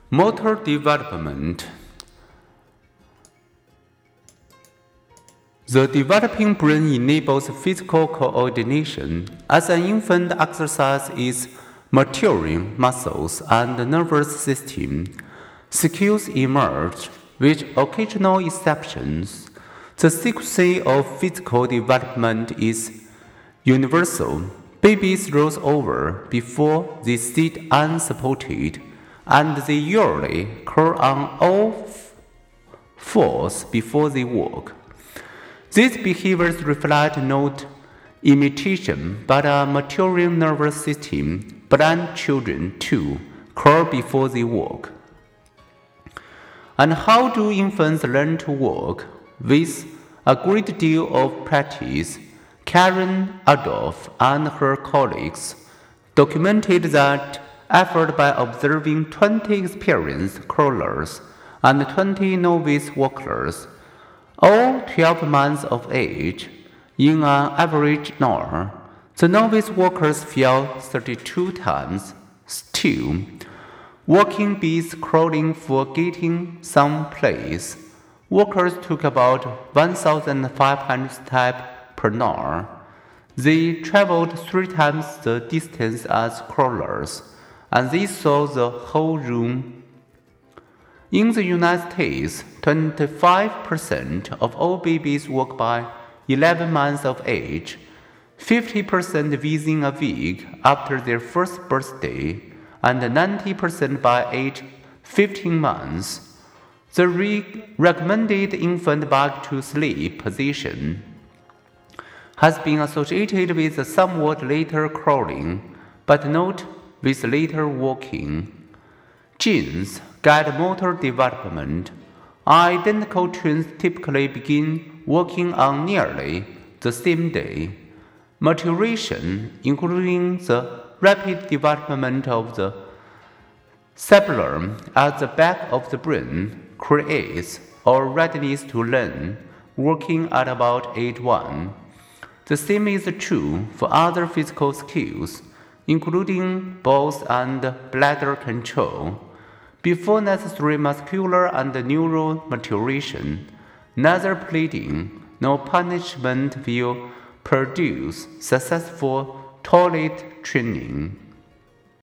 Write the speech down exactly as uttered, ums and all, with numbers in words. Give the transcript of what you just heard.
Motor development. The developing brain enables physical coordination. As an infant exercises its maturing muscles and nervous system, skills emerge, with occasional exceptions. The sequence of physical development is universal. Babies roll over before they sit unsupported, and they usually crawl on all fours before they walk. These behaviors reflect not imitation, but a maturing nervous system. Blind children, too, crawl before they walk. And how do infants learn to walk? With a great deal of practice, Karen Adolph and her colleagues documented that effort by observing twenty experienced crawlers and twenty novice walkers, all twelve months of age, in an average hour. The novice walkers fell thirty-two times. Still, walking beats crawling for getting someplace. Walkers took about one thousand five hundred steps per hour. They traveled three times the distance as crawlers, and they saw the whole room. In the United States, twenty-five percent of all babies walk by eleven months of age, fifty percent within a week after their first birthday, and ninety percent by age fifteen months. The re- recommended infant back-to-sleep position has been associated with a somewhat later crawling, but not with later walking. Genes guide motor development. Identical twins typically begin walking on nearly the same day. Maturation, including the rapid development of the cerebellum at the back of the brain, creates a readiness to learn walking at about age one. The same is true for other physical skills, including bowels and bladder control. Before necessary muscular and neural maturation, neither pleading nor punishment will produce successful toilet training.